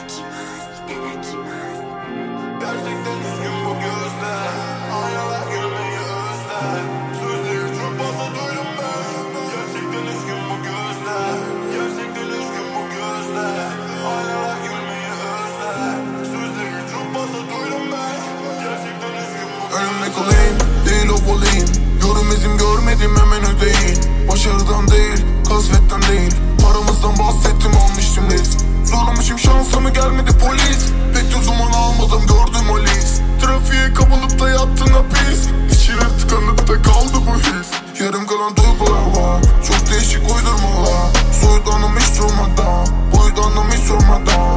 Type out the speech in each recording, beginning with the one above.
Gerçekten üzgün bu gözler, aynalar gülmeyi özler. Sözleri çok fazla duydum ben. Gerçekten üzgün bu gözler, gerçekten üzgün bu gözler. Aynalar gülmeyi özler. Sözleri çok fazla duydum ben. Gerçekten üzgün bu gözler. Önümdeki olayım, değil o olayım. Yorum izim görmedim hemen ödeyin. Başarıdan değil, kasvetten değil. Paramızdan bahsettim almıştım risk. Zorlamışım şansımı gelmedi polis. Pek de zaman almadım gördüm o list. Trafiğe kapılıp da yattın hapis. İçine tıkanıp da kaldı bu his. Yarım kalan duygular var, çok değişik uydurmalar. Soyutlandım hiç durmadan, boyutlandım hiç sormadan.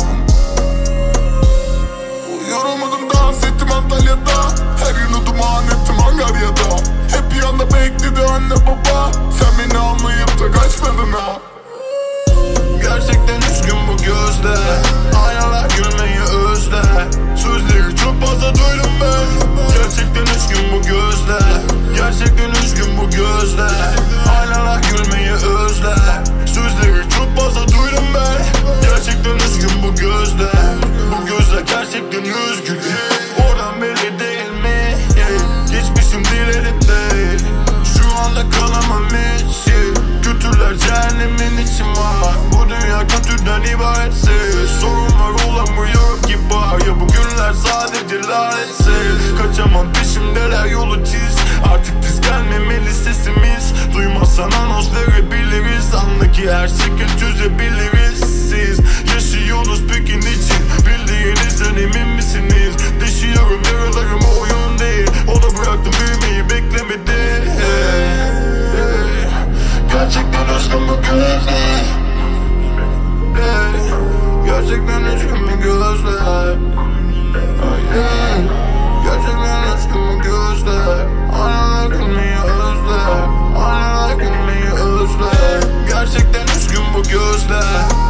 Yorulmadım dans ettim Antalya'da. Her yıl duman ettim Angarya'da. Hep bir yanda bekledi anne baba. Sen beni anlayıp da kaçmadın ha. Gerçekten üzgün bu gözler, aynalar gülmeyi özler. Sözleri çok fazla duydum ben. Gerçekten üzgün bu gözler, gerçekten üzgün bu gözler. Aynalar gülmeyi özler. Sözleri çok fazla duydum ben. Gerçekten üzgün bu gözler. Bu gözler gerçekten üzgün. Oradan belli değil mi? Geçmişim dilerimde. Şu anda kalamam hiç. Kötüler cehennemin içim var. Bu dünya kötüden ibaretse. Sorunlar olamıyor ki var. Ya bugünler sadece lanetse. Kaçamam peşimdeler yolu çiz. Artık diz gelmemeli sesimiz. Duymazsan anons verebiliriz. Anla ki her şeyi çözebiliriz. Siz yaşıyorsunuz peki niçin? Bildiğinizden emin misiniz? Deşiyorum yaralarımı oyun değil. Ona bıraktım büyümeyi beklemedi. Gerçekten üzgün bu gözler. Gerçekten üzgün bu gözler. Gerçekten üzgün bu gözler. Aynalar gülmeyi özler. Aynalar gülmeyi özler. Gerçekten üzgün bu gözler.